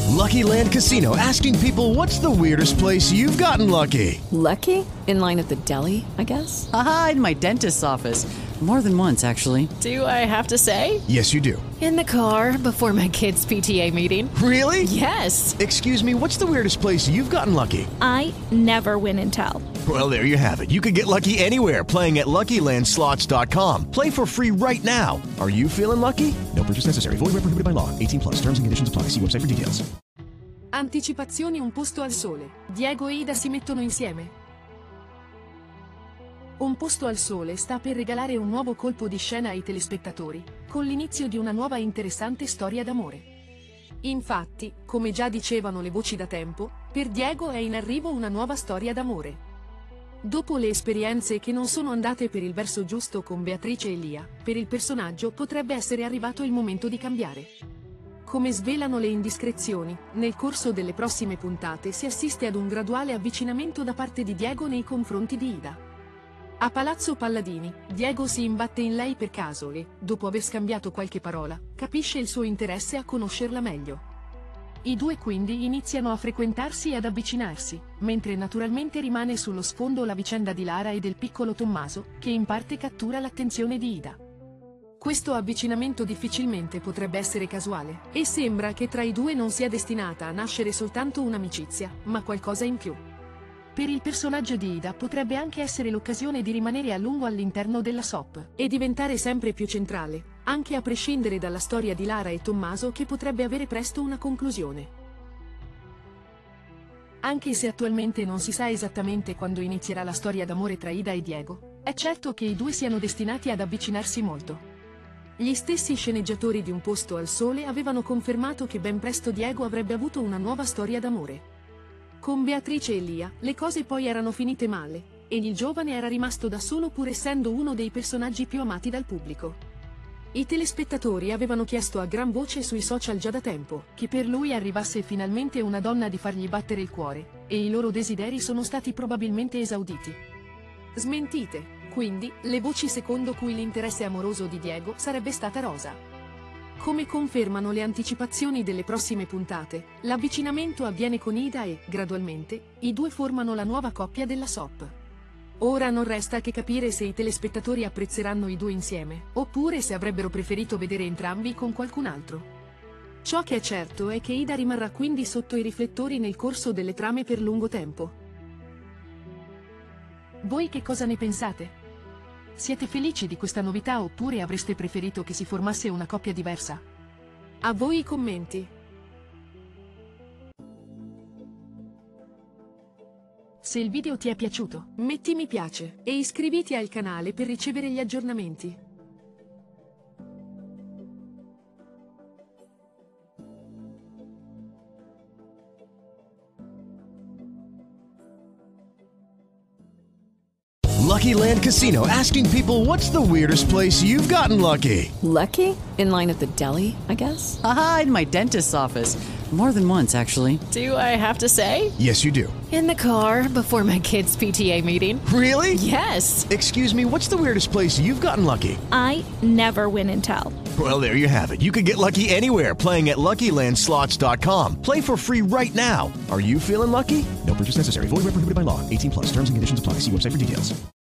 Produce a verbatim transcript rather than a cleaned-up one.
Lucky Land Casino, asking people, what's the weirdest place you've gotten lucky? Lucky? In line at the deli, I guess? Aha, in my dentist's office. More than once, actually. Do I have to say? Yes, you do. In the car before my kids' P T A meeting. Really? Yes. Excuse me, what's the weirdest place you've gotten lucky? I never win and tell. Well, there you have it. You can get lucky anywhere, playing at Lucky Land Slots dot com. Play for free right now. Are you feeling lucky? No purchase necessary. Void where prohibited by law. eighteen plus. Terms and conditions apply. See website for details. Anticipazioni Un posto al sole. Diego e Ida si mettono insieme. Un posto al sole sta per regalare un nuovo colpo di scena ai telespettatori, con l'inizio di una nuova e interessante storia d'amore. Infatti, come già dicevano le voci da tempo, per Diego è in arrivo una nuova storia d'amore. Dopo le esperienze che non sono andate per il verso giusto con Beatrice e Lia, per il personaggio potrebbe essere arrivato il momento di cambiare. Come svelano le indiscrezioni, nel corso delle prossime puntate si assiste ad un graduale avvicinamento da parte di Diego nei confronti di Ida. A Palazzo Palladini, Diego si imbatte in lei per caso e, dopo aver scambiato qualche parola, capisce il suo interesse a conoscerla meglio. I due quindi iniziano a frequentarsi e ad avvicinarsi, mentre naturalmente rimane sullo sfondo la vicenda di Lara e del piccolo Tommaso, che in parte cattura l'attenzione di Ida. Questo avvicinamento difficilmente potrebbe essere casuale, e sembra che tra i due non sia destinata a nascere soltanto un'amicizia, ma qualcosa in più. Per il personaggio di Ida potrebbe anche essere l'occasione di rimanere a lungo all'interno della soap e diventare sempre più centrale, anche a prescindere dalla storia di Lara e Tommaso che potrebbe avere presto una conclusione. Anche se attualmente non si sa esattamente quando inizierà la storia d'amore tra Ida e Diego, è certo che i due siano destinati ad avvicinarsi molto. Gli stessi sceneggiatori di Un posto al sole avevano confermato che ben presto Diego avrebbe avuto una nuova storia d'amore. Con Beatrice e Lia, le cose poi erano finite male, e il giovane era rimasto da solo pur essendo uno dei personaggi più amati dal pubblico. I telespettatori avevano chiesto a gran voce sui social già da tempo, che per lui arrivasse finalmente una donna di fargli battere il cuore, e i loro desideri sono stati probabilmente esauditi. Smentite, quindi, le voci secondo cui l'interesse amoroso di Diego sarebbe stata Rosa. Come confermano le anticipazioni delle prossime puntate, l'avvicinamento avviene con Ida e, gradualmente, i due formano la nuova coppia della soap. Ora non resta che capire se i telespettatori apprezzeranno i due insieme, oppure se avrebbero preferito vedere entrambi con qualcun altro. Ciò che è certo è che Ida rimarrà quindi sotto i riflettori nel corso delle trame per lungo tempo. Voi che cosa ne pensate? Siete felici di questa novità oppure avreste preferito che si formasse una coppia diversa? A voi i commenti. Se il video ti è piaciuto, metti mi piace e iscriviti al canale per ricevere gli aggiornamenti. Lucky Land Casino, asking people, what's the weirdest place you've gotten lucky? Lucky? In line at the deli, I guess? Aha, in my dentist's office. More than once, actually. Do I have to say? Yes, you do. In the car before my kids' P T A meeting. Really? Yes. Excuse me, what's the weirdest place you've gotten lucky? I never win and tell. Well, there you have it. You can get lucky anywhere, playing at Lucky Land Slots dot com. Play for free right now. Are you feeling lucky? No purchase necessary. Void where prohibited by law. eighteen plus. Terms and conditions apply. See website for details.